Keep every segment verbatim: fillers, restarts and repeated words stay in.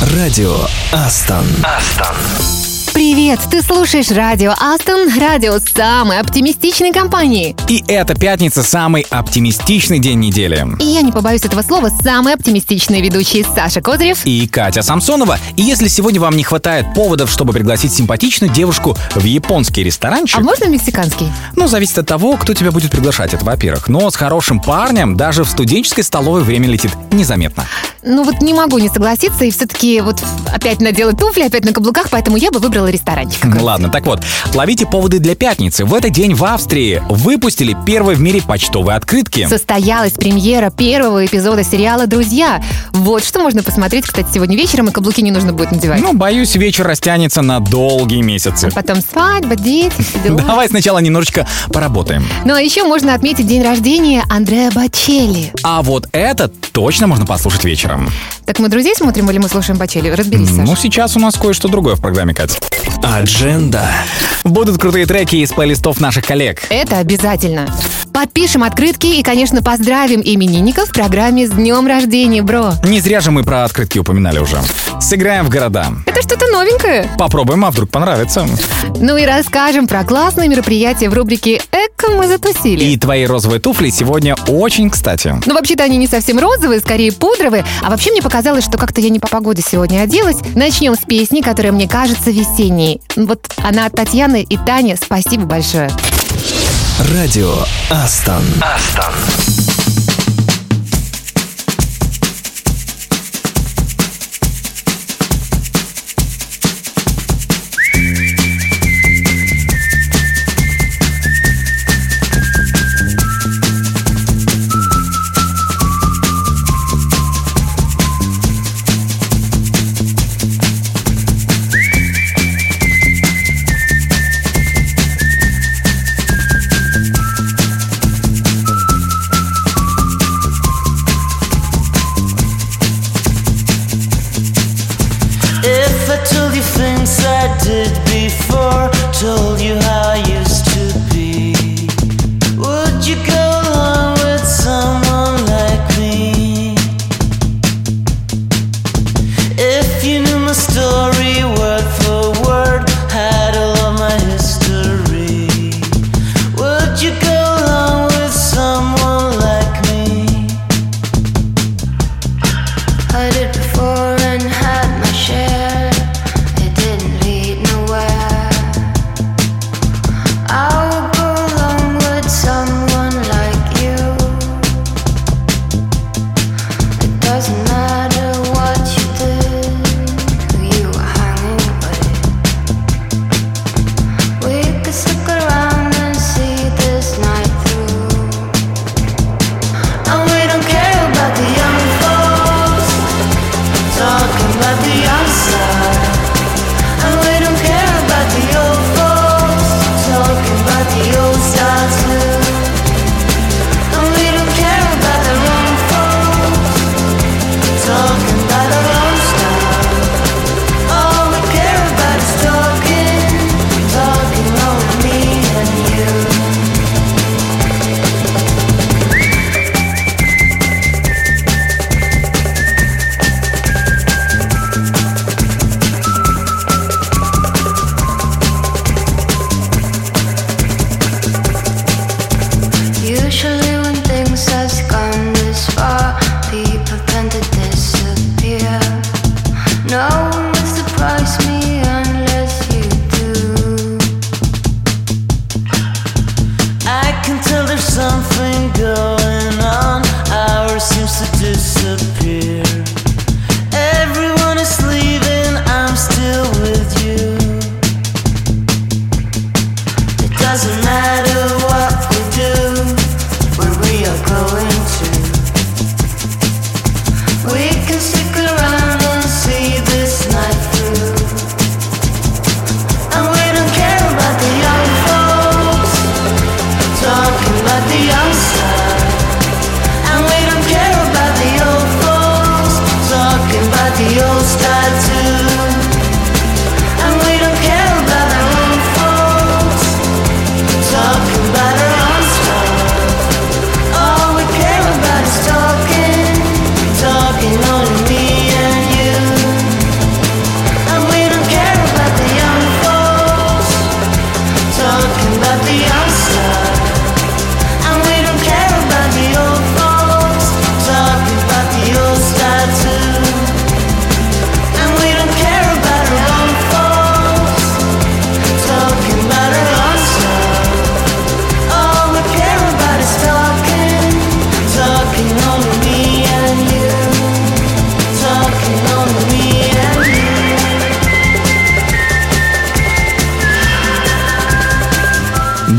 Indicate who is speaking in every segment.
Speaker 1: Радио Астон. Астон.
Speaker 2: Привет! Ты слушаешь Радио Астон, радио самой оптимистичной компании.
Speaker 3: И это пятница, самый оптимистичный день недели.
Speaker 2: И я не побоюсь этого слова, самые оптимистичные ведущие Саша Козырев
Speaker 3: и Катя Самсонова. И если сегодня вам не хватает поводов, чтобы пригласить симпатичную девушку в японский ресторанчик...
Speaker 2: А можно мексиканский?
Speaker 3: Ну, зависит от того, кто тебя будет приглашать, это во-первых. Но с хорошим парнем даже в студенческой столовой время летит незаметно.
Speaker 2: Ну вот не могу не согласиться, и все-таки вот опять надела туфли, опять на каблуках, поэтому я бы выбрала ресторанчик.
Speaker 3: Ладно, так вот, ловите поводы для пятницы. В этот день в Австрии выпустили первые в мире почтовые открытки.
Speaker 2: Состоялась премьера первого эпизода сериала «Друзья». Вот что можно посмотреть, кстати, сегодня вечером, и каблуки не нужно будет надевать.
Speaker 3: Ну, боюсь, вечер растянется на долгие месяцы.
Speaker 2: А потом свадьба, дети, все дела.
Speaker 3: Давай сначала немножечко поработаем.
Speaker 2: Ну, а еще можно отметить день рождения Андреа Бочелли.
Speaker 3: А вот это точно можно послушать вечером.
Speaker 2: Так мы «Друзей» смотрим или мы слушаем Бочелли? Разберись, Саша.
Speaker 3: Ну, сейчас у нас кое-что другое в программе, Катя.
Speaker 1: Адженда.
Speaker 3: Будут крутые треки из плейлистов наших коллег.
Speaker 2: Это обязательно. Подпишем открытки и, конечно, поздравим именинников в программе «С днем рождения, бро».
Speaker 3: Не зря же мы про открытки упоминали уже. Сыграем в города.
Speaker 2: Это что-то новенькое.
Speaker 3: Попробуем, а вдруг понравится.
Speaker 2: Ну и расскажем про классные мероприятия в рубрике «Эко мы затусили».
Speaker 3: И твои розовые туфли сегодня очень кстати.
Speaker 2: Ну, вообще-то они не совсем розовые, скорее пудровые. А вообще мне показалось, что как-то я не по погоде сегодня оделась. Начнем с песни, которая мне кажется весенней. Вот она от Татьяны и Тани. Спасибо большое.
Speaker 1: Радио Астон. Астон.
Speaker 4: It didn't lead nowhere.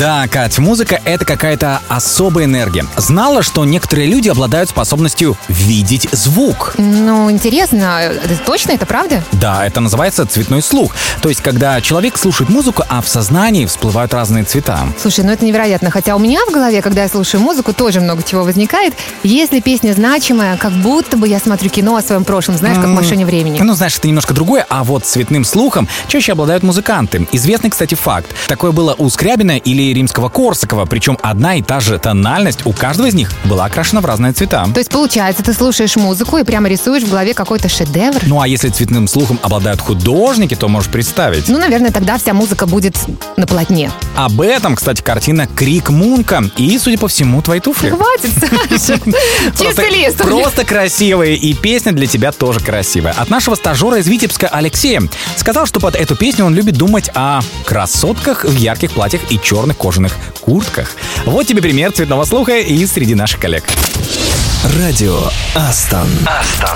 Speaker 3: Да, Кать, музыка — это какая-то особая энергия. Знала, что некоторые люди обладают способностью видеть звук?
Speaker 2: Ну, интересно, это точно, это правда?
Speaker 3: Да, это называется цветной слух. То есть, когда человек слушает музыку, а в сознании всплывают разные цвета.
Speaker 2: Слушай, ну это невероятно. Хотя у меня в голове, когда я слушаю музыку, тоже много чего возникает. Если песня значимая, как будто бы я смотрю кино о своем прошлом, знаешь, как в «Машине времени».
Speaker 3: Ну, знаешь, это немножко другое, а вот цветным слухом чаще обладают музыканты. Известный, кстати, факт. Такое было у Скрябина или Римского-Корсакова, причем одна и та же тональность у каждого из них была окрашена в разные цвета.
Speaker 2: То есть, получается, ты слушаешь музыку и прямо рисуешь в голове какой-то шедевр?
Speaker 3: Ну, а если цветным слухом обладают художники, то можешь представить.
Speaker 2: Ну, наверное, тогда вся музыка будет на полотне.
Speaker 3: Об этом, кстати, картина «Крик Мунка» и, судя по всему, твои туфли.
Speaker 2: Хватит, Саша. Чистый лист.
Speaker 3: Просто красивые, и песня для тебя тоже красивая. От нашего стажера из Витебска Алексея. Сказал, что под эту песню он любит думать о красотках в ярких платьях и черных кожаных куртках. Вот тебе пример цветного слуха и среди наших коллег.
Speaker 1: Радио Астон. Астон.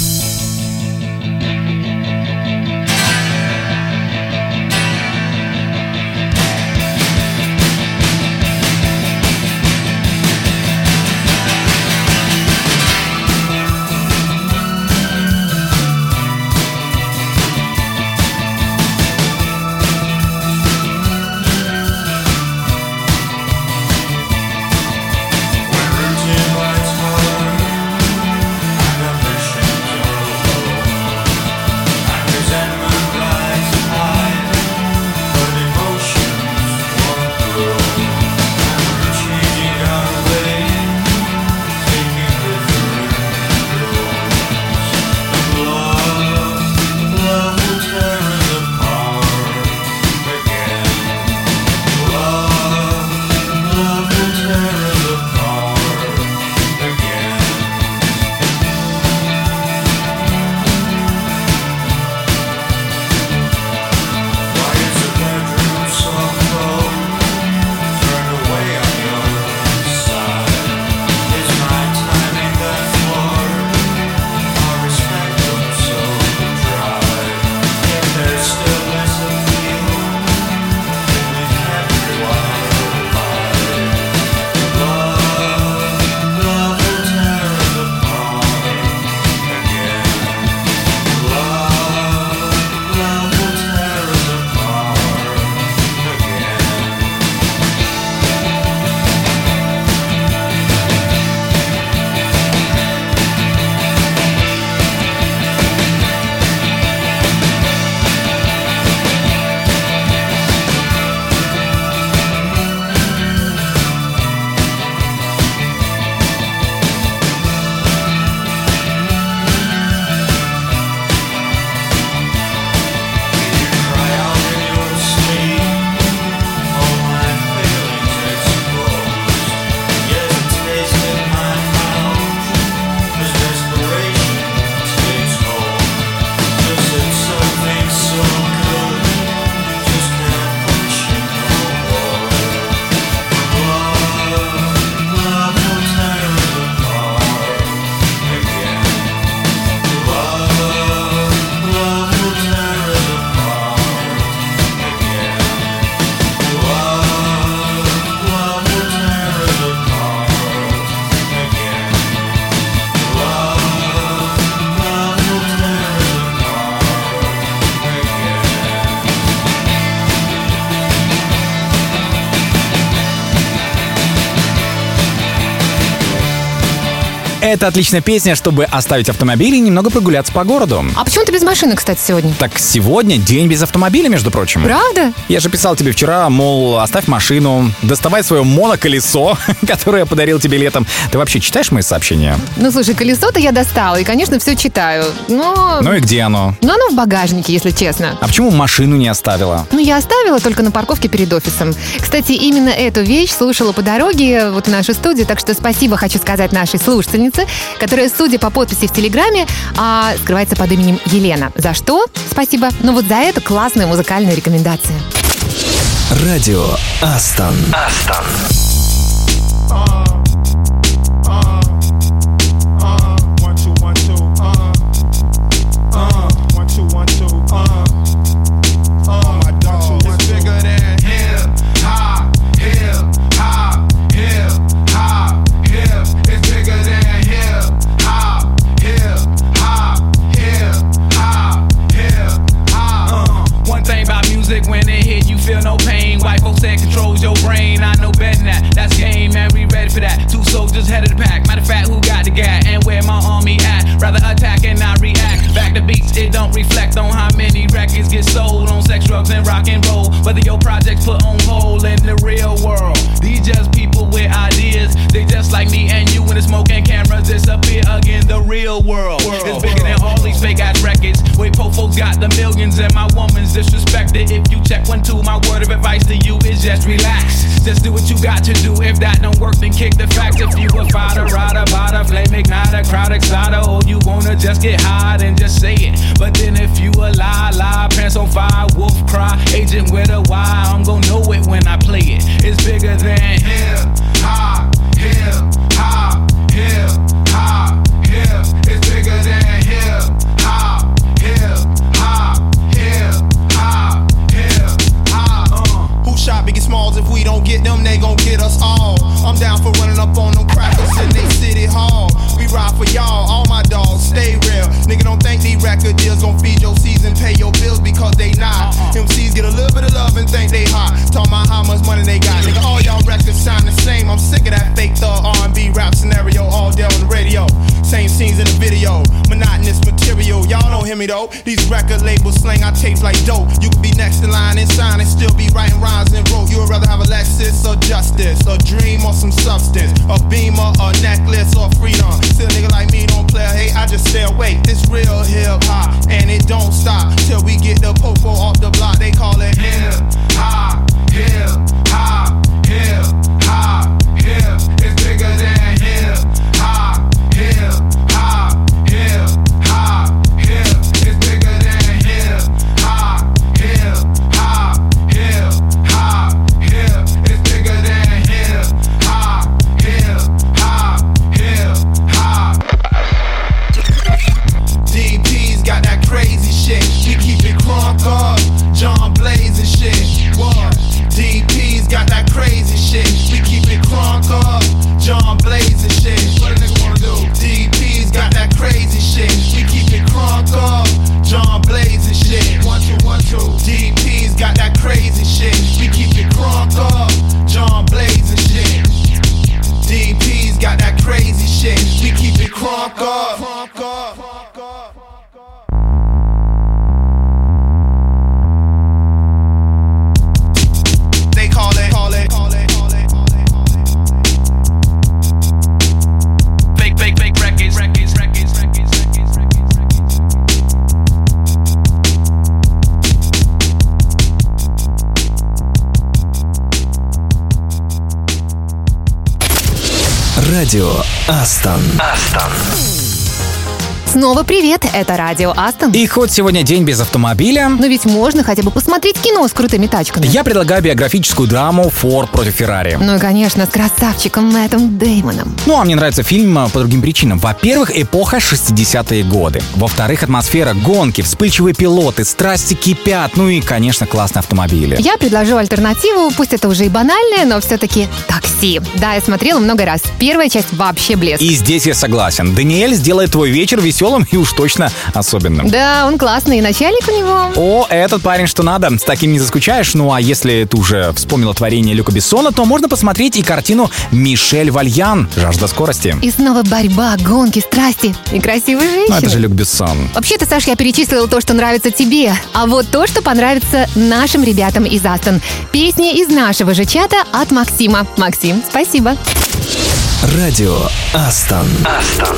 Speaker 3: Это отличная песня, чтобы оставить автомобиль и немного прогуляться по городу.
Speaker 2: А почему ты без машины, кстати, сегодня?
Speaker 3: Так сегодня день без автомобиля, между прочим.
Speaker 2: Правда?
Speaker 3: Я же писал тебе вчера, мол, оставь машину, доставай свое моноколесо, которое я подарил тебе летом. Ты вообще читаешь мои сообщения?
Speaker 2: Ну, слушай, колесо-то я достала, и, конечно, все читаю, но...
Speaker 3: Ну и где оно?
Speaker 2: Ну, оно в багажнике, если честно.
Speaker 3: А почему машину не оставила?
Speaker 2: Ну, я оставила только на парковке перед офисом. Кстати, именно эту вещь слушала по дороге вот в нашу студию, так что спасибо хочу сказать нашей слушательнице, которая, судя по подписи в Телеграме, а, скрывается под именем Елена. За что? Спасибо. Ну вот за это классная музыкальная рекомендация.
Speaker 1: Радио Астон. Астон.
Speaker 4: Bigger than hip hop, hip impact on how many records get sold on sex, drugs, and rock and roll. Whether your projects put on hold in the real world. These just people with ideas. They just like me and you when the smoke and cameras disappear again. The real world, world is bigger world. Than all these fake ass records. Wait, po folks got the millions and my woman's disrespected. If you check one, two, my word of advice to you is just relax. Just do what you got to do. If that don't work, then kick the facts. If you a fighter, rider, bada, flame igniter, crowd exciter, or you wanna just get high, then just say it. But then if you a lie, lie, pants on fire, wolf cry, agent with a Y, I'm gon' know it when I play it. It's bigger than hip hop, hip hop, hip hop, hip. It's bigger than hip hop, hip hop, hip hop, hip hop. Uh. Who shot Biggie Smalls? If we don't get them, they gon' get us all. I'm down for running up on them crackers in they city hall. We ride for y'all, all my dogs, stay real. Nigga, don't think these record deals gon' feed your season, pay your bills because they not. Uh-uh. M Cs get a little bit of love and think they hot. Talk about how much money they got. Nigga, all y'all records sound the same. I'm sick of that fake thug R and B rap scenario all day on the radio. Same scenes in the video, monotonous material. Y'all don't hear me though. These record labels slang our tapes like dope. You could be next in line and sign and still be writing rhymes and rope. You would rather have a Lexus or justice, a dream or some substance, a beamer, a necklace or freedom. Still a nigga like me don't play a hate, I just stay awake. This real hip hop and it don't stop till we get the popo off the block. They call it hip hop, hip hop, hip hop, hip. It's bigger than hip hop, hip hop, hip hop, hip. It's bigger than hip hop, hip hop, hip hop, hip. It's bigger than hip hop, hip hop, hip hop. D P's got that crazy shit. We keep it crunk up, John Blaze and shit. What? D P's got that crazy shit. We keep it crunk up, John Blaze and shit. What a nigga wanna do? D P's got that crazy shit. We keep it crunk up, John Blaze and shit. One two one two. D P's got that crazy shit. We keep it crunk up, John Blaze and shit. D P's got that crazy shit. We keep it crunk up. Crunk up. They call it, call it, call it, call it, call it, call it. Fake, fake, fake records, records, records, records, records, records,
Speaker 1: records. Радио Астон. Астон.
Speaker 2: Снова привет, это радио Астон.
Speaker 3: И хоть сегодня день без автомобиля,
Speaker 2: но ведь можно хотя бы посмотреть кино с крутыми тачками.
Speaker 3: Я предлагаю биографическую драму «Форд против Феррари».
Speaker 2: Ну и, конечно, с красавчиком Мэттом Дэймоном.
Speaker 3: Ну, а мне нравится фильм по другим причинам. Во-первых, эпоха шестидесятые годы. Во-вторых, атмосфера гонки, вспыльчивые пилоты, страсти кипят. Ну и, конечно, классные автомобили.
Speaker 2: Я предложу альтернативу, пусть это уже и банальное, но все-таки «Такси». Да, я смотрела много раз. Первая часть вообще блеск.
Speaker 3: И здесь я согласен. Даниэль сделает твой вечер веселым и уж точно особенным.
Speaker 2: Да, он классный, и начальник у него.
Speaker 3: О, этот парень что надо, с таким не заскучаешь. Ну а если ты уже вспомнила творение Люка Бессона, то можно посмотреть и картину Мишель Вальян «Жажда скорости».
Speaker 2: И снова борьба, гонки, страсти и красивые женщины.
Speaker 3: Ну это же Люк Бессон.
Speaker 2: Вообще-то, Саш, я перечислила то, что нравится тебе. А вот то, что понравится нашим ребятам из Астон. Песни из нашего же чата от Максима. Максим, спасибо.
Speaker 1: Радио Астон. Астон.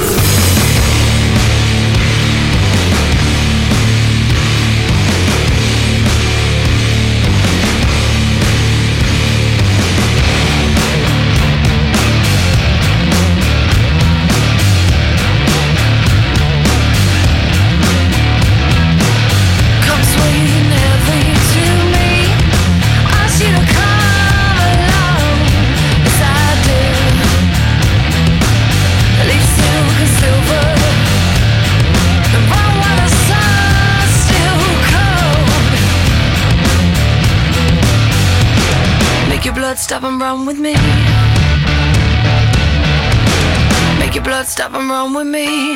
Speaker 5: Stop and run with me. Make your blood stop and run with me.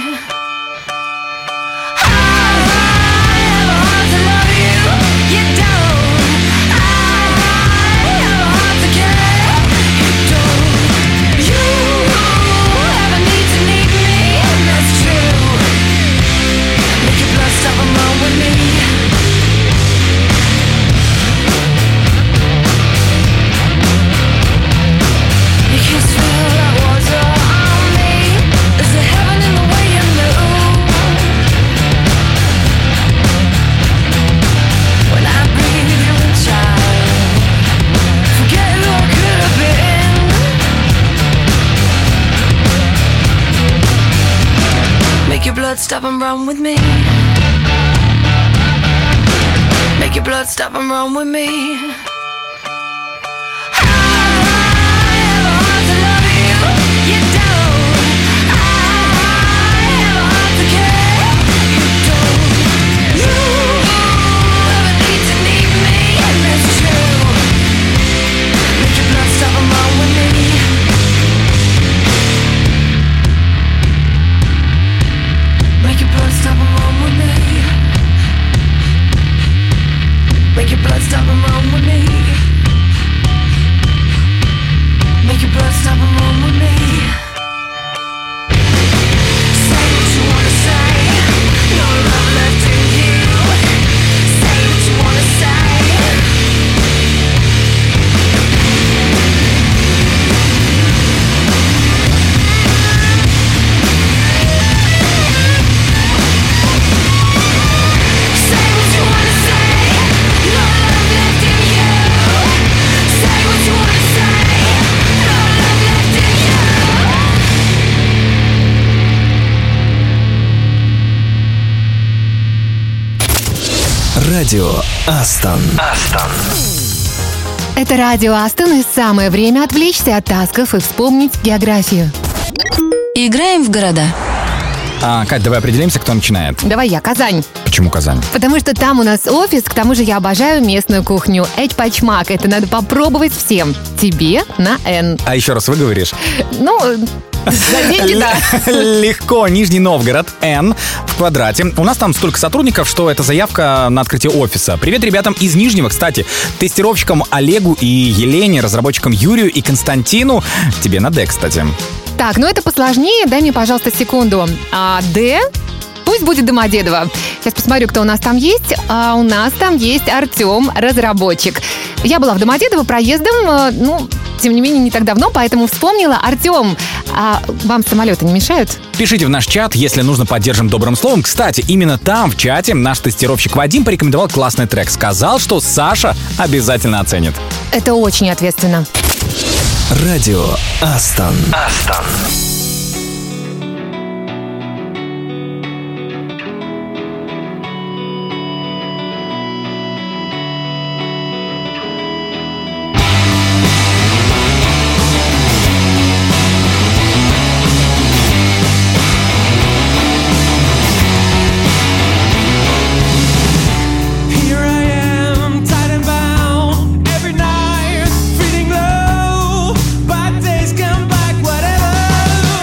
Speaker 5: Stop and run with me. stop and run with me. Make your blood stop and run with me. Make your blood stop and run with me. Make your blood stop and run with me. Say what you wanna say. No love left in you. Say what you wanna say.
Speaker 1: Радио Астон. Астон.
Speaker 2: Это радио Астон, и самое время отвлечься от тасков и вспомнить географию.
Speaker 6: Играем в города.
Speaker 3: А, Кать, давай определимся, кто начинает.
Speaker 2: Давай я, Казань.
Speaker 3: Почему Казань?
Speaker 2: Потому что там у нас офис, к тому же я обожаю местную кухню. Эчпачмак, это надо попробовать всем. Тебе на Н.
Speaker 3: А еще раз выговоришь.
Speaker 2: Ну, за деньги, да.
Speaker 3: Легко. Нижний Новгород, Н в квадрате. У нас там столько сотрудников, что это заявка на открытие офиса. Привет ребятам из Нижнего, кстати. Тестировщикам Олегу и Елене, разработчикам Юрию и Константину. Тебе на Д, кстати.
Speaker 2: Так, ну это посложнее. Дай мне, пожалуйста, секунду. А, Д... Пусть будет Домодедово. Сейчас посмотрю, кто у нас там есть. А у нас там есть Артем, разработчик. Я была в Домодедово проездом, ну, тем не менее, не так давно, поэтому вспомнила. Артем, а вам самолеты не мешают?
Speaker 3: Пишите в наш чат, если нужно, поддержим добрым словом. Кстати, именно там, в чате, наш тестировщик Вадим порекомендовал классный трек. Сказал, что Саша обязательно оценит.
Speaker 2: Это очень ответственно.
Speaker 1: Радио Астон. Астон.
Speaker 7: Every night, feeling low, but days come back, whatever.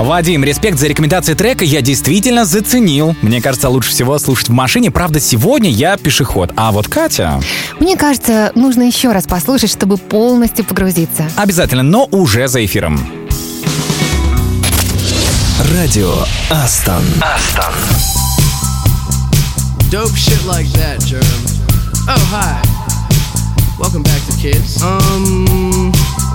Speaker 3: Вадим, респект за рекомендации трека, я действительно заценил. Мне кажется, лучше всего слушать в машине. Правда, сегодня я пешеход. А вот Катя...
Speaker 2: Мне кажется, нужно еще раз послушать, чтобы полностью погрузиться.
Speaker 3: Обязательно, но уже за эфиром.
Speaker 1: Радио Астон. Астон.
Speaker 7: Dope shit like that, Germ. Oh, hi. Welcome back to Kids. Um...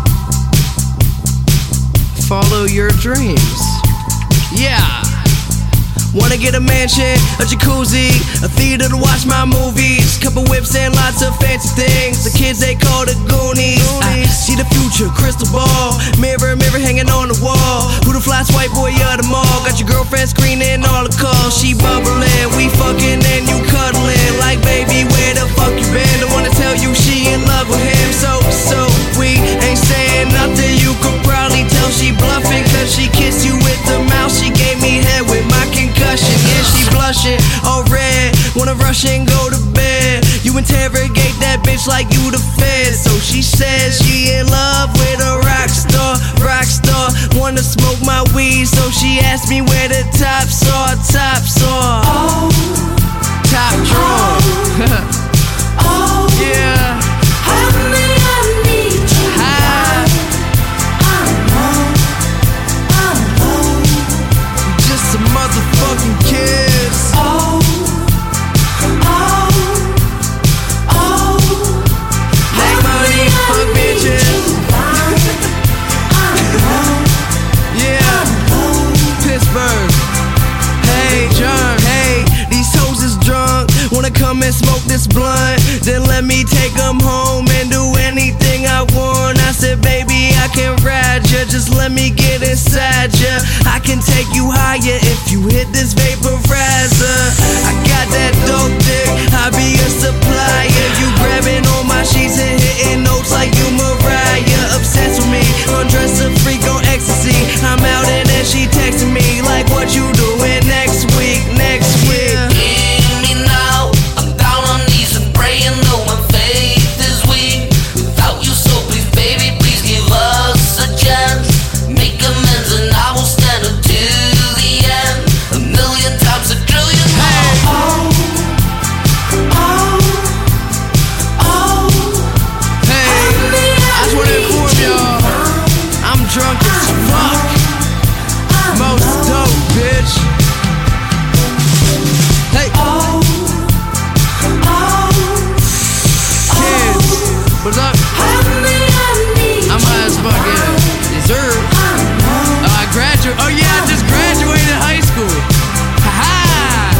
Speaker 7: Follow your dreams. Yeah. Wanna get a mansion, a jacuzzi, a theater to watch my movies, couple whips and lots of fancy things. The kids they call the Goonies. I see the future, crystal ball, mirror, mirror hanging on the wall. Who the fly white boy of the mall? Got your girlfriend screening all the calls. She bubbling, we fucking and you cuddling. Like baby, where the fuck you been? Don't wanna tell you she in love with him. So, so we ain't saying nothing. You could probably tell she bluffing, cause she kissed you with the mouth. She gave me head with my concussion. Yeah, she blushing, all red. Wanna rush and go to bed. You interrogate that bitch like you the fed. So she says she in love with a rock star, rock star. Wanna smoke my weed, so she asked me where the tops are, tops are. Oh, top drawer. Oh, oh, yeah. Honey, I need you. Hi. I know, I know. Just a motherfucking kiss. Oh, oh, oh. Make money, fuck bitches. Yeah, Pittsburgh. Hey, John, hey, these hoes is drunk. Wanna come and smoke this blunt? Then let me take them home and do anything I want. I said, baby, I can ride ya. Just let me get inside ya. I can take you higher if you hit this vaporizer. I got that dope dick, I be a supplier. You grabbing on my sheets and hitting notes like you Mariah. Obsessed with me, undress a freak on ecstasy. I'm out and then she texting me like, what you doing next week, next week?
Speaker 5: Hear me now, I'm down on knees and praying though my faith is weak. Without you, so please baby, please give us a chance. Make amends and I will stand until the end. A million times, a trillion times. Oh, oh, oh.
Speaker 7: Hey, I just wanna inform y'all, I'm drunk as fuck. Most dope, bitch. Hey, oh, oh. Kids, what's up? I'm high as fuck, yeah. Dessert. Oh, I graduated. Oh yeah, I just graduated high school. Ha-ha.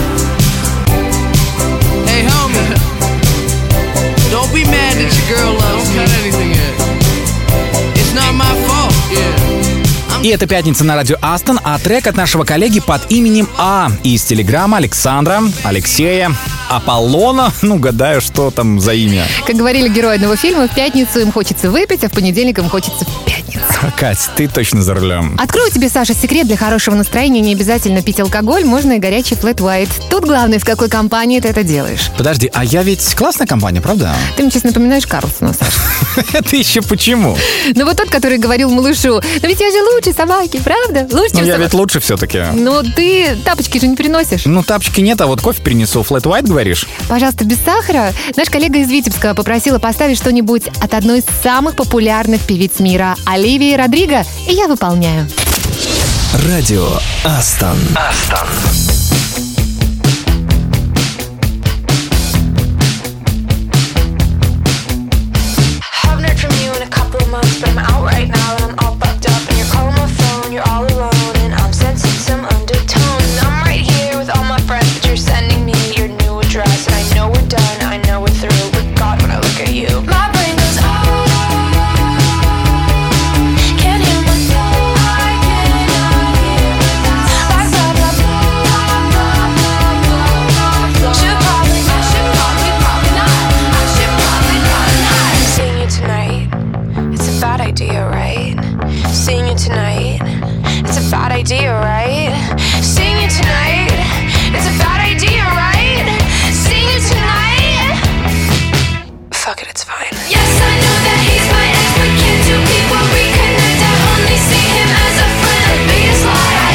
Speaker 7: Hey, homie. Don't be mad that your girl loves me. Don't cut anything yet. It's not my fault. Yeah.
Speaker 3: И это «Пятница» на радио Астон, а трек от нашего коллеги под именем А из телеграма Александра, Алексея, Аполлона. Ну, гадаю, что там за имя.
Speaker 2: Как говорили герои одного фильма, в пятницу им хочется выпить, а в понедельник им хочется в пятницу.
Speaker 3: Кать, ты точно за рулем.
Speaker 2: Открою тебе, Саша, секрет: для хорошего настроения не обязательно пить алкоголь, можно и горячий флэт уайт. Тут главное, в какой компании ты это делаешь.
Speaker 3: Подожди, а я ведь классная компания, правда?
Speaker 2: Ты мне сейчас напоминаешь Карлсона, Саша.
Speaker 3: Это еще почему?
Speaker 2: Ну вот тот, который говорил малышу: ну ведь я же лучше собаки, правда? Лучше,
Speaker 3: Ну
Speaker 2: чем
Speaker 3: я
Speaker 2: собака.
Speaker 3: ведь лучше все-таки.
Speaker 2: Ну ты тапочки же не приносишь.
Speaker 3: Ну тапочки нет, а вот кофе принесу. Флэт уайт, говоришь?
Speaker 2: Пожалуйста, без сахара. Наш коллега из Витебска попросила поставить что-нибудь от одной из самых популярных певиц мира, Оливии Родриго, и я выполняю.
Speaker 1: Радио Астон. Астон.
Speaker 8: Haven't heard from you in a couple of months, but I'm out right now and I'm all bugged up. And you're calling my phone, you're all alone, and I'm sensing some undertones. I'm right here with all my friends, but you're sending me your new address. And I know we're done, I know we're through, but God, when I look at you, my brain goes, oh, can't hear myself, I cannot hear myself. Like blah, blah, blah, blah, blah, blah. Should probably, I should probably, probably not. I should probably, probably not. Seeing you tonight, it's a bad idea, right? Seeing you tonight, it's a bad idea, right? Seeing you tonight, it's a bad idea, right? Seeing you tonight, fuck it, it's fine. Yes, I know that he's my ex, but can't two people reconnect? I only see him as a friend. Biggest lie I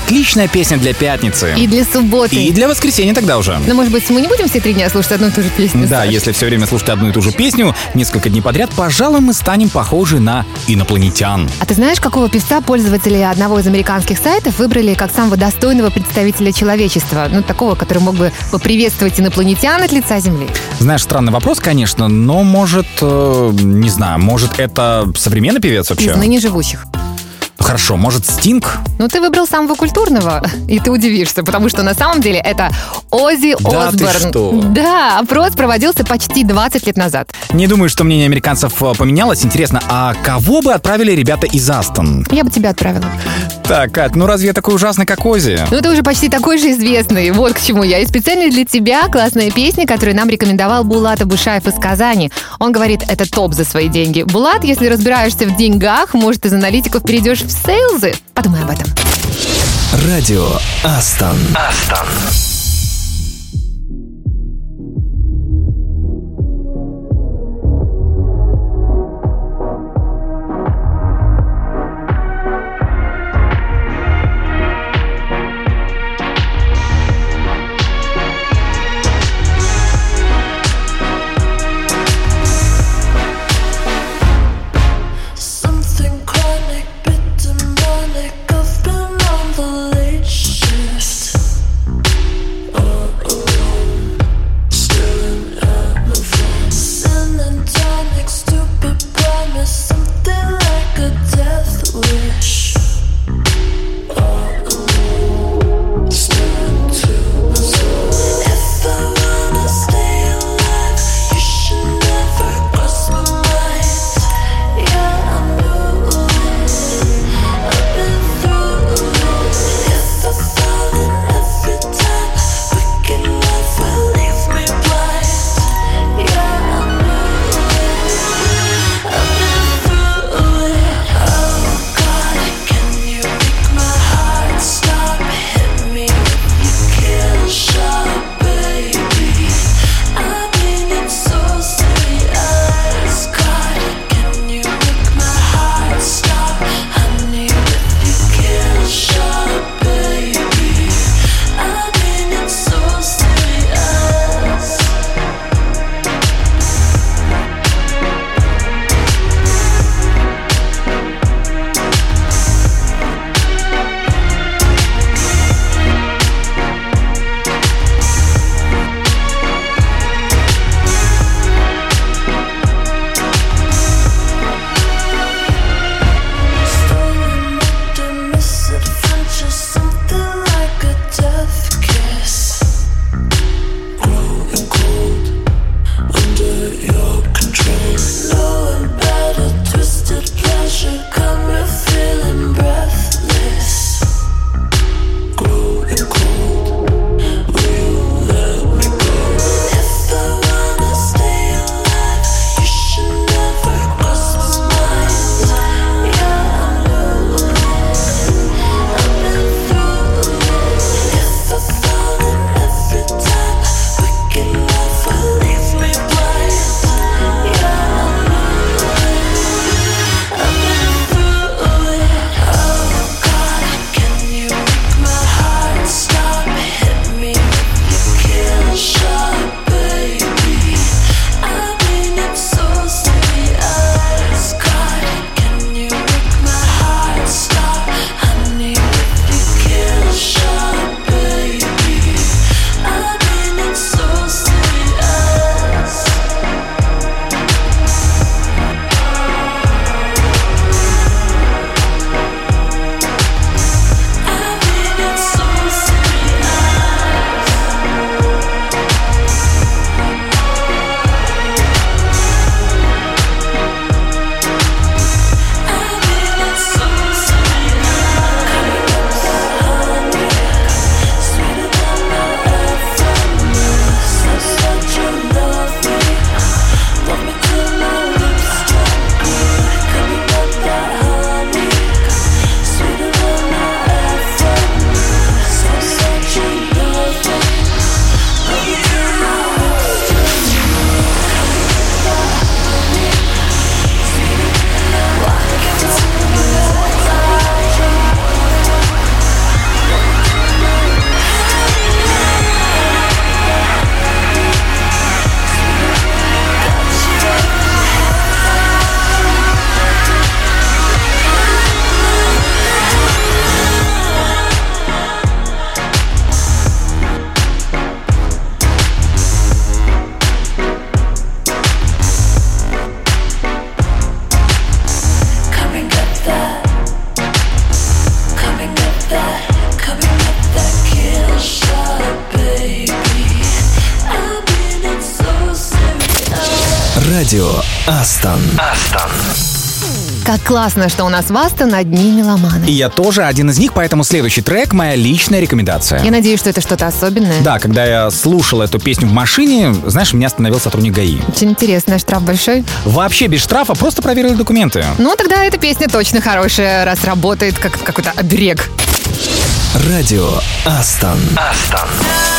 Speaker 3: Отличная песня для пятницы.
Speaker 2: И для субботы.
Speaker 3: И для воскресенья тогда уже.
Speaker 2: Но, может быть, мы не будем все три дня слушать одну и ту же песню?
Speaker 3: Да,
Speaker 2: Саш?
Speaker 3: если все время слушать одну и ту же песню несколько дней подряд, пожалуй, мы станем похожи на инопланетян.
Speaker 2: А ты знаешь, какого певца пользователи одного из американских сайтов выбрали как самого достойного представителя человечества? Ну, такого, который мог бы поприветствовать инопланетян от лица Земли.
Speaker 3: Знаешь, странный вопрос, конечно, но может, э, не знаю, может это современный певец вообще?
Speaker 2: Из ныне живущих.
Speaker 3: Хорошо, может Стинг?
Speaker 2: Ну, ты выбрал самого культурного, и ты удивишься, потому что на самом деле это Оззи
Speaker 3: Да ты
Speaker 2: Осборн.
Speaker 3: что?
Speaker 2: Да, опрос проводился почти двадцать лет назад.
Speaker 3: Не думаю, что мнение американцев э, поменялось. Интересно, а кого бы отправили ребята из Астон?
Speaker 2: Я бы тебя отправила.
Speaker 3: Так, Кать, ну разве я такой ужасный, как Оззи?
Speaker 2: Ну, ты уже почти такой же известный. Вот к чему я. И специально для тебя классная песня, которую нам рекомендовал Булат Абушаев из Казани. Он говорит, это топ за свои деньги. Булат, если разбираешься в деньгах, может, из аналитиков перейдешь в сейлзы? Подумай об этом.
Speaker 1: Радио Астон. Астон.
Speaker 8: Something chronic, bit demonic. I've been on the late shift.
Speaker 1: Радио Астон. Астон.
Speaker 2: Как классно, что у нас в Астон одни меломаны.
Speaker 3: И я тоже один из них, поэтому следующий трек — моя личная рекомендация.
Speaker 2: Я надеюсь, что это что-то особенное.
Speaker 3: Да, когда я слушал эту песню в машине, знаешь, меня остановил сотрудник ГАИ.
Speaker 2: Очень интересно, штраф большой?
Speaker 3: Вообще без штрафа, просто проверили документы.
Speaker 2: Ну, тогда эта песня точно хорошая, раз работает как какой-то оберег.
Speaker 1: Радио Астон. Астон.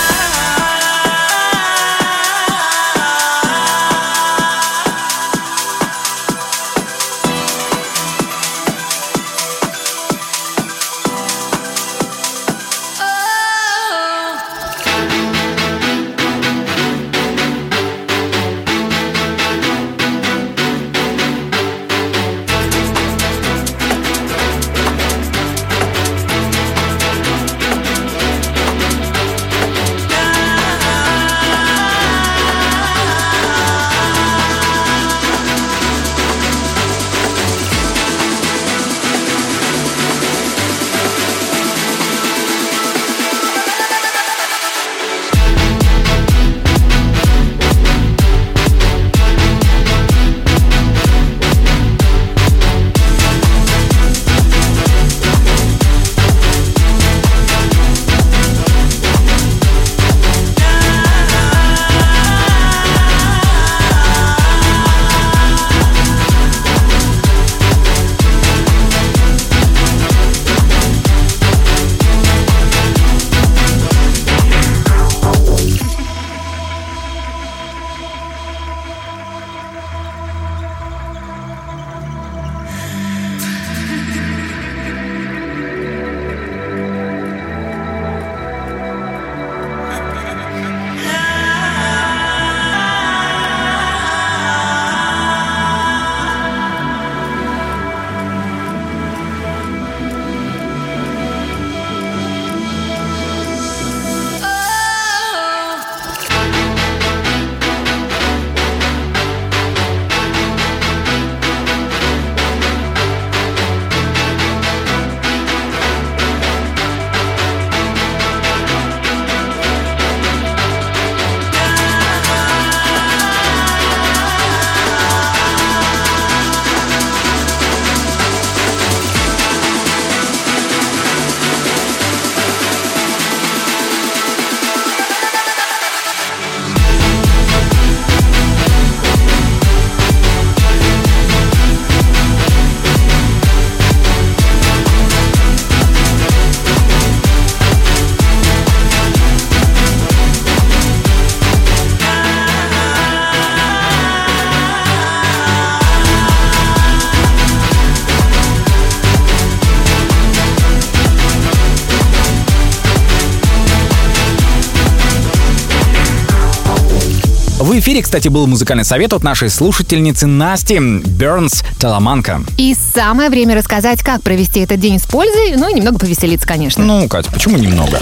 Speaker 3: В эфире, кстати, был музыкальный совет от нашей слушательницы Насти Бернс Таламанка.
Speaker 2: И самое время рассказать, как провести этот день с пользой, ну и немного повеселиться, конечно.
Speaker 3: Ну, Катя, почему немного?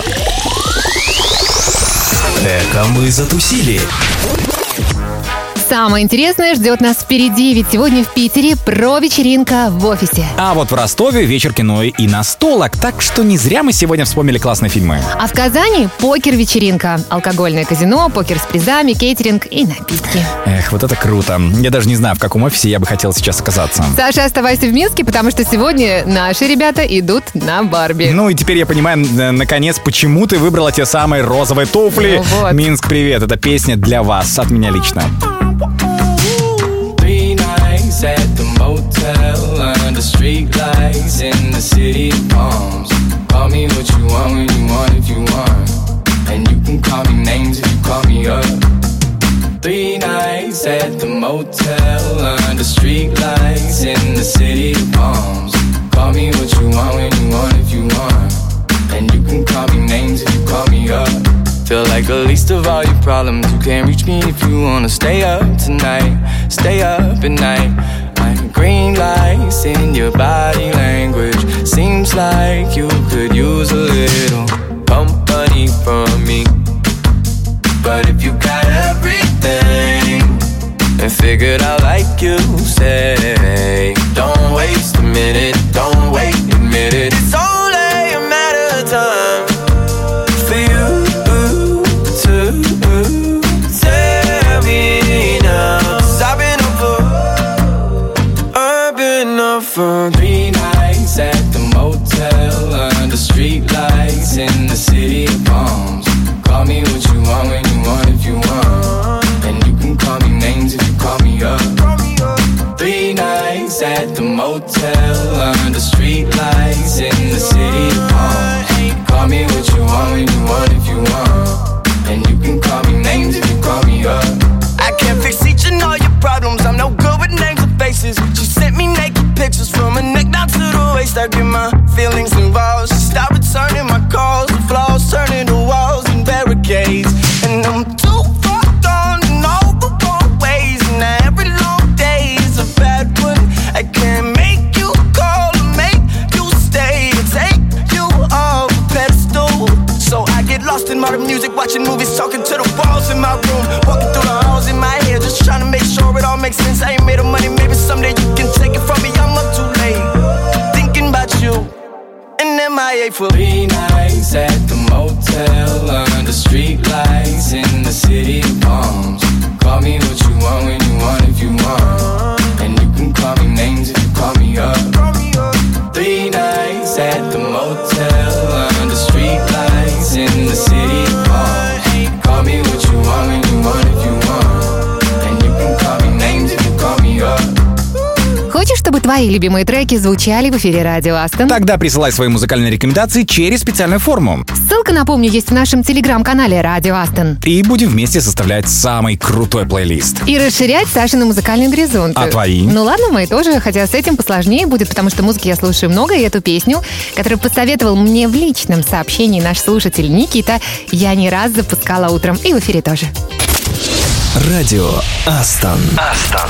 Speaker 1: Эко мы затусили.
Speaker 2: Самое интересное ждет нас впереди, ведь сегодня в Питере про-вечеринка в офисе.
Speaker 3: А вот в Ростове вечер кино и настолок, так что не зря мы сегодня вспомнили классные фильмы.
Speaker 2: А в Казани покер-вечеринка. Алкогольное казино, покер с призами, кейтеринг и напитки.
Speaker 3: Эх, вот это круто. Я даже не знаю, в каком офисе я бы хотел сейчас оказаться.
Speaker 2: Саша, оставайся в Минске, потому что сегодня наши ребята идут на Барби.
Speaker 3: Ну и теперь я понимаю, н- наконец, почему ты выбрала те самые розовые туфли.
Speaker 2: Ну вот.
Speaker 3: Минск, привет, это песня для вас, от меня лично.
Speaker 9: Three nights at the motel under street lights in the city of palms. Call me what you want when you want if you want, and you can call me names if you call me up. Three nights at the motel under street lights in the city of palms. Call me what you want when you want if you want, and you can call me names if you call me up. Feel like the least of all your problems. You can't reach me if you wanna stay up tonight. Stay up at night. I'm green lights in your body language. Seems like you could use a little company from me. But if you got everything and figured out like you say, don't waste a minute, don't wait, admit it. It's only a matter of time for you to tell me now. 'Cause I've been up motel under street lights in the city of palms. Call me what you want when you want if you want, and you can call me names if you call me up.
Speaker 7: I can't fix each and all your problems. I'm no good with names or faces. She sent me naked pictures from her neck down to the waist. I get my feelings involved. She stopped returning my calls. The flaws turning to walls and barricades. And I'm too far gone in all the wrong ways. And every long day is a bad one. I can't make you call or make you stay or take you off a pedestal. So I get lost in modern music, watching movies, talking to the walls in my room, walking through the halls in my head, just trying to make sure it all makes sense. I ain't made of money, maybe someday you can take it from me. I'm up too late, thinking about you, and M I A for
Speaker 9: three nights at the motel under street lights in the city of palms. Call me what you want when you want if you want, and you can call me names if you call me up. Three nights at the motel under street lights in the city of palms. Call me what you want when you want if you want, and you can call me names if you call me up.
Speaker 2: Хочешь, чтобы твои любимые треки звучали в эфире Радио Астон?
Speaker 3: Тогда присылай свои музыкальные рекомендации через специальную форму.
Speaker 2: Ссылка, напомню, есть в нашем телеграм-канале Радио Астон.
Speaker 3: И будем вместе составлять самый крутой плейлист.
Speaker 2: И расширять Сашины музыкальные горизонты.
Speaker 3: А твои?
Speaker 2: Ну ладно, мои тоже, хотя с этим посложнее будет, потому что музыки я слушаю много, и эту песню, которую посоветовал мне в личном сообщении наш слушатель Никита, я не раз запускала утром, и в эфире тоже.
Speaker 1: Радио Астон. Астон.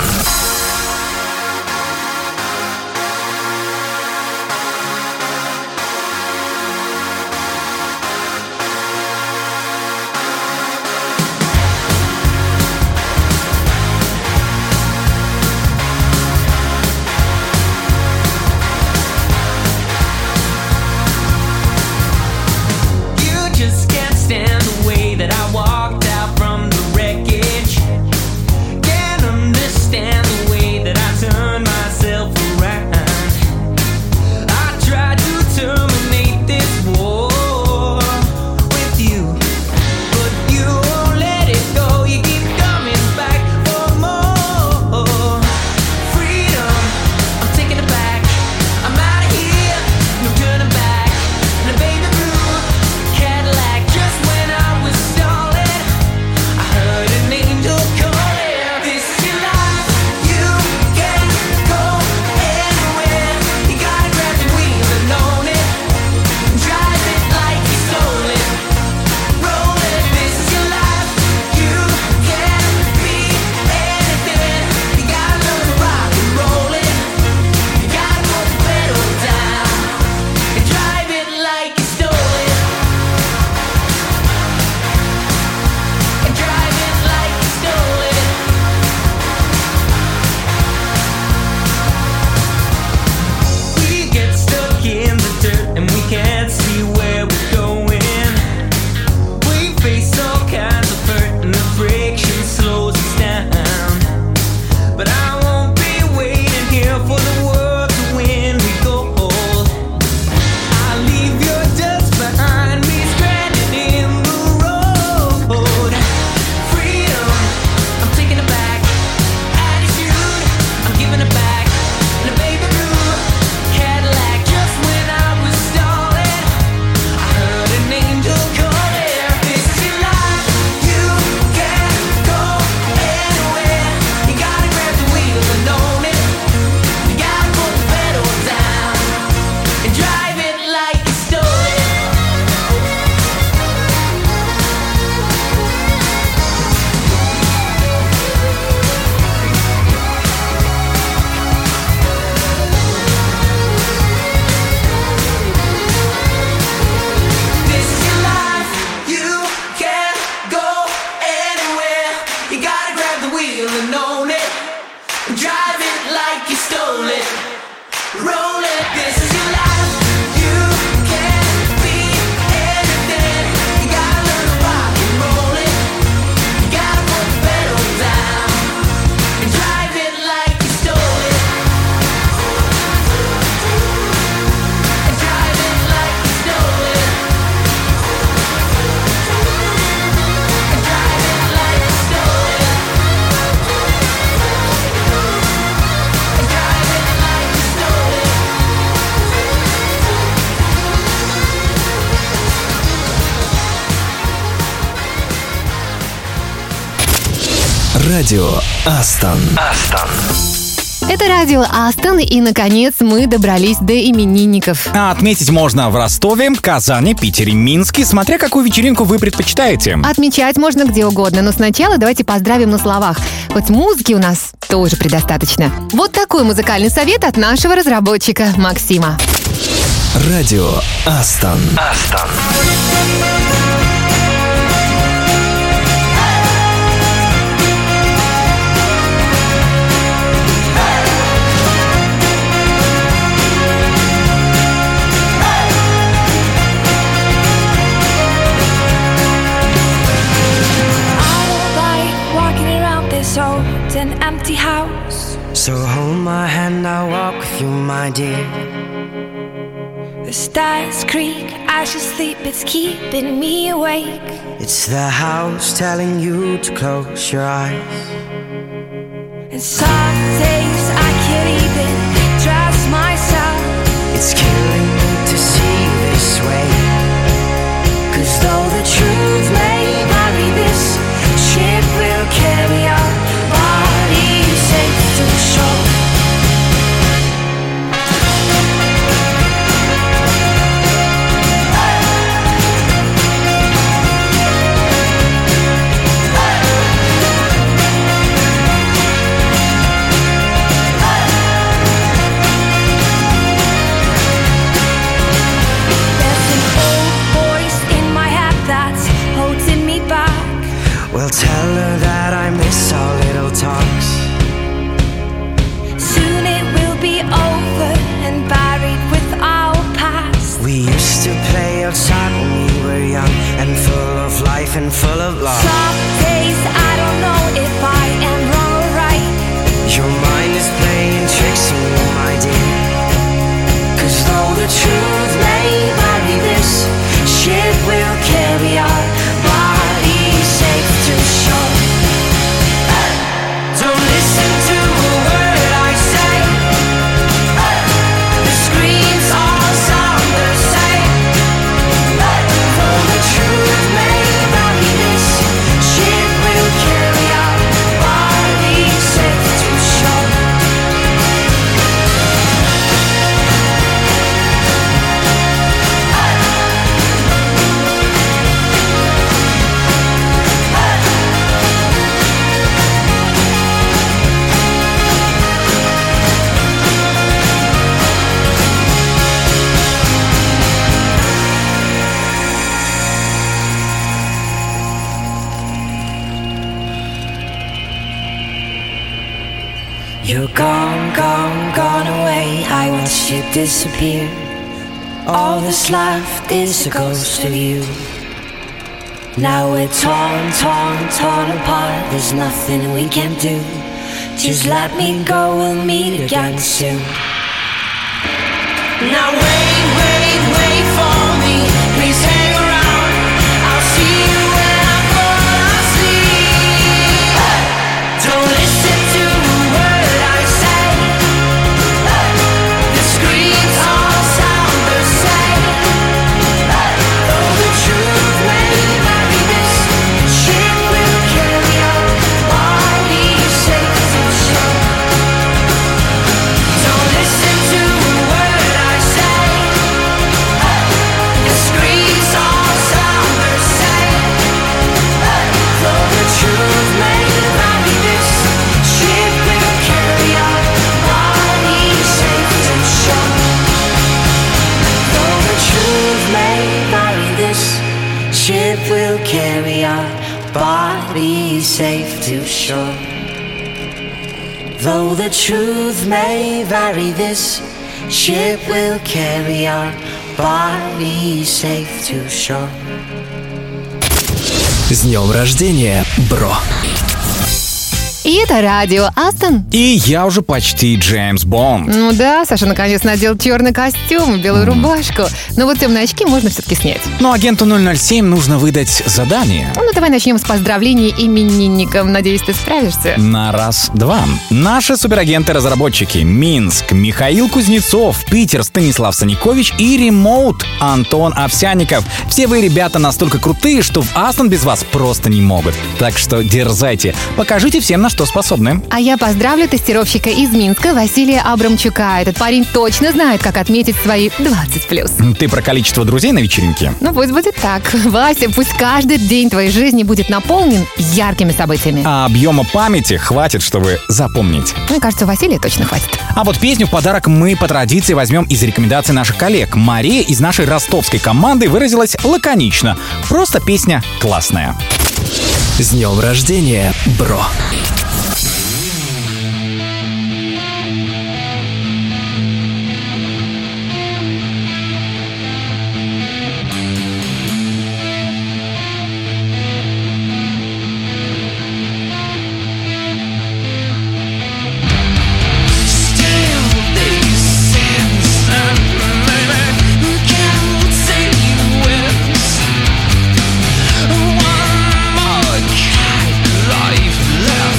Speaker 1: Радио Астон. Астон.
Speaker 2: Это радио Астон, и, наконец, мы добрались до именинников.
Speaker 3: А отметить можно в Ростове, Казани, Питере, Минске, смотря какую вечеринку вы предпочитаете.
Speaker 2: Отмечать можно где угодно, но сначала давайте поздравим на словах. Хоть музыки у нас тоже предостаточно. Вот такой музыкальный совет от нашего разработчика Максима.
Speaker 1: Радио Астон. Астон.
Speaker 8: An empty house.
Speaker 7: So hold my hand, I'll walk with you, my dear.
Speaker 8: The stars creak as you sleep, it's keeping me awake.
Speaker 7: It's the house telling you to close your eyes.
Speaker 8: And some days I can't even trust myself.
Speaker 7: It's killing me to see this way. Cause though the truth may vary, this ship will carry on. Safe to shore. There's an old voice in my head that's holding me back. Well, tell her that I miss our little talks.
Speaker 8: Soon it will be over and buried with our past.
Speaker 7: We used to play outside when we were young and full of life and full of love.
Speaker 8: Some days I don't know if I am wrong or right.
Speaker 7: Your mind is playing tricks on you, my dear. Cause though the truth may vary, this ship will carry our bodies safe to shore. Don't listen to a word I say. The screams all sound the same. Though the truth may vary, this ship will carry our bodies safe to shore. You're gone, gone, gone away. I watched you disappear. All that's left is a ghost of you. Now we're torn, torn, torn apart. There's nothing we can do. Just let me go, we'll meet again soon. Now wait, wait, wait for me. Please hang around. I'll see you when I fall asleep. Don't listen to a word I say. The screams all sound the same. Though the truth may vary, this ship will carry our bodies safe to shore. Don't listen to a word I say. The screams all sound the same. Though the truth may vary, this ship will carry our bodies safe to shore. Though the truth may vary, this ship will carry our bodies safe to shore. Though the truth may vary, this ship will carry our bodies safe to shore.
Speaker 1: С днем рождения, бро!
Speaker 2: И это радио Астон.
Speaker 3: И я уже почти Джеймс Бонд.
Speaker 2: Ну да, Саша наконец надел черный костюм и белую рубашку. Но вот темные очки можно все-таки снять.
Speaker 3: Но агенту ноль ноль семь нужно выдать задание.
Speaker 2: Ну давай начнем с поздравлений именинникам. Надеюсь, ты справишься.
Speaker 3: На раз-два. Наши суперагенты-разработчики: Минск, Михаил Кузнецов, Питер, Станислав Саникович и Ремоут, Антон Овсянников. Все вы, ребята, настолько крутые, что в Астон без вас просто не могут. Так что дерзайте, покажите всем, на что способны.
Speaker 2: А я поздравлю тестировщика из Минска Василия Абрамчука. Этот парень точно знает, как отметить свои двадцать плюс.
Speaker 3: Ты про количество друзей на вечеринке?
Speaker 2: Ну пусть будет так. Вася, пусть каждый день твоей жизни будет наполнен яркими событиями.
Speaker 3: А объема памяти хватит, чтобы запомнить.
Speaker 2: Мне кажется, Василия точно хватит.
Speaker 3: А вот песню в подарок мы по традиции возьмем из рекомендаций наших коллег. Мария из нашей ростовской команды выразилась лаконично. Просто песня классная.
Speaker 1: С днем рождения, бро!
Speaker 5: Life left.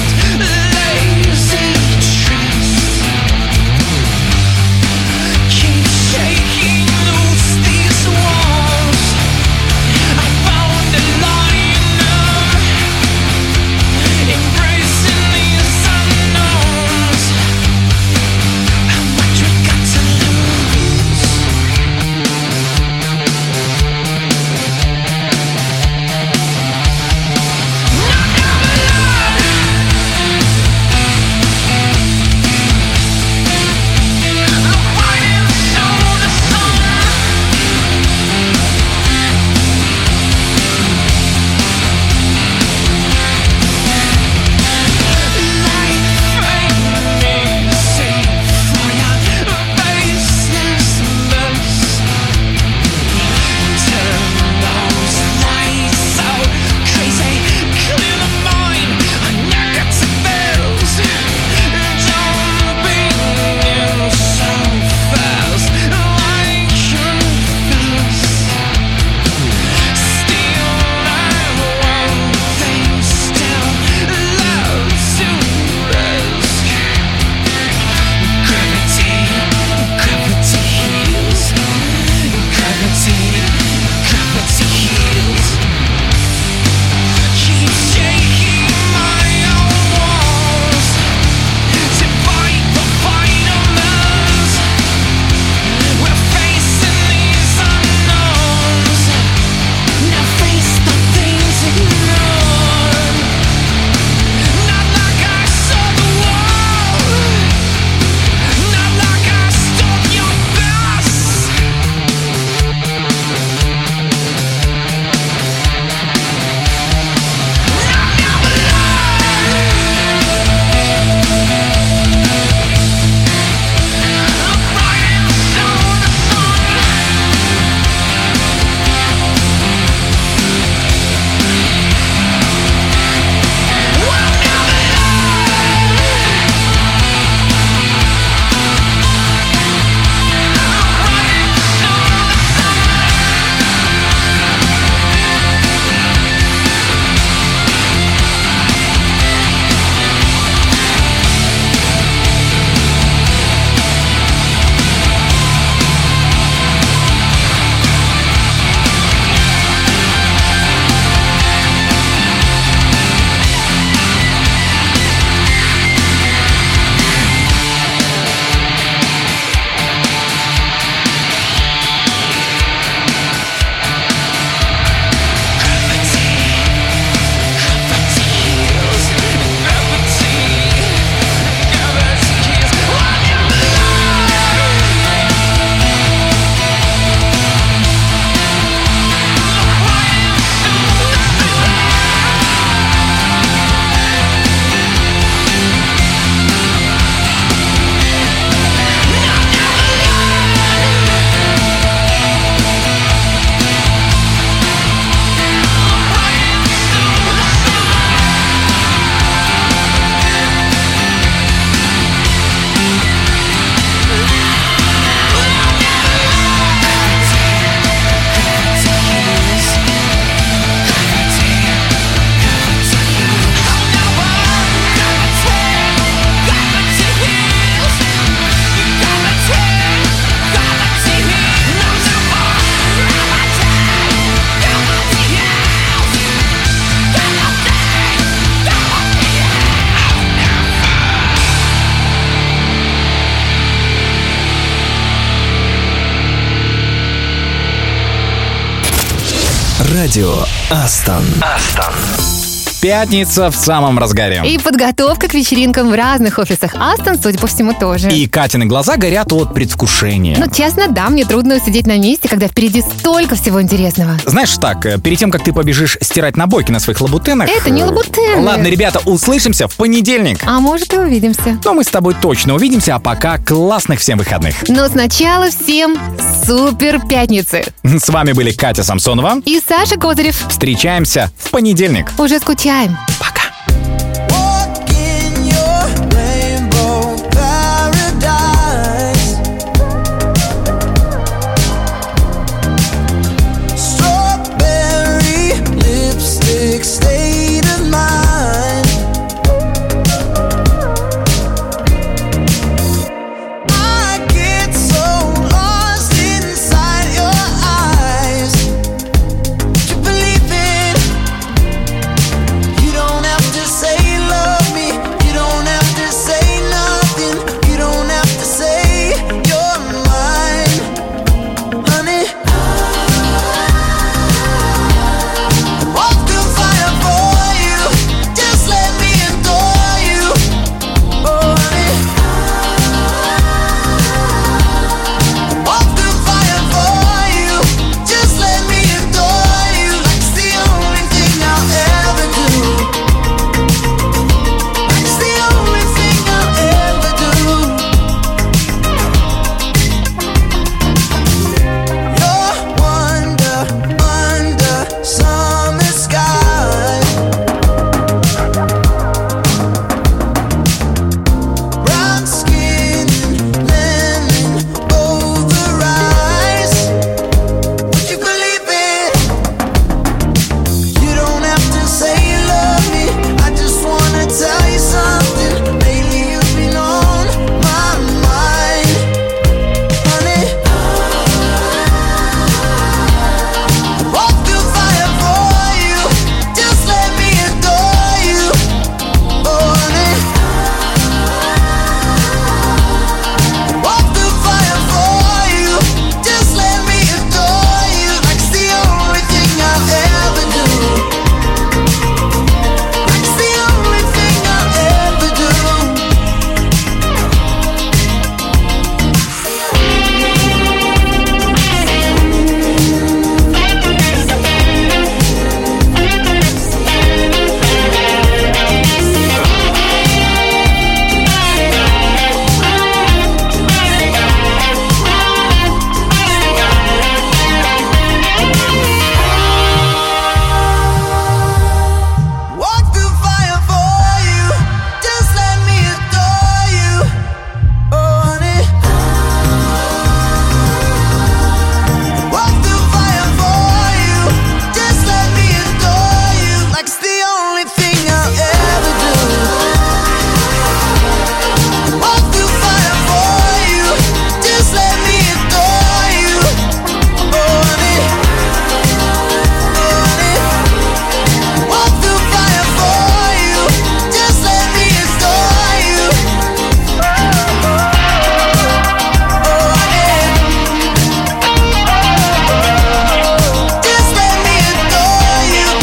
Speaker 1: Радио Астон. Астон.
Speaker 3: Пятница в самом разгаре.
Speaker 2: И подготовка к вечеринкам в разных офисах Астон, судя по всему, тоже.
Speaker 3: И Катины глаза горят от предвкушения.
Speaker 2: Ну, честно, да, мне трудно усидеть на месте, когда впереди столько всего интересного.
Speaker 3: Знаешь, так, э, перед тем, как ты побежишь стирать набойки на своих лабутенах...
Speaker 2: Это не
Speaker 3: э,
Speaker 2: лабутены.
Speaker 3: Ладно, ребята, услышимся в понедельник.
Speaker 2: А может, и увидимся.
Speaker 3: Но мы с тобой точно увидимся, а пока классных всем выходных.
Speaker 2: Но сначала всем супер пятницы.
Speaker 3: С вами были Катя Самсонова.
Speaker 2: И Саша Козырев.
Speaker 3: Встречаемся в понедельник.
Speaker 2: Уже скучаем.
Speaker 3: Пока.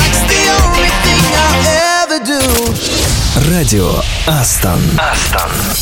Speaker 1: Радио Астон. Астон.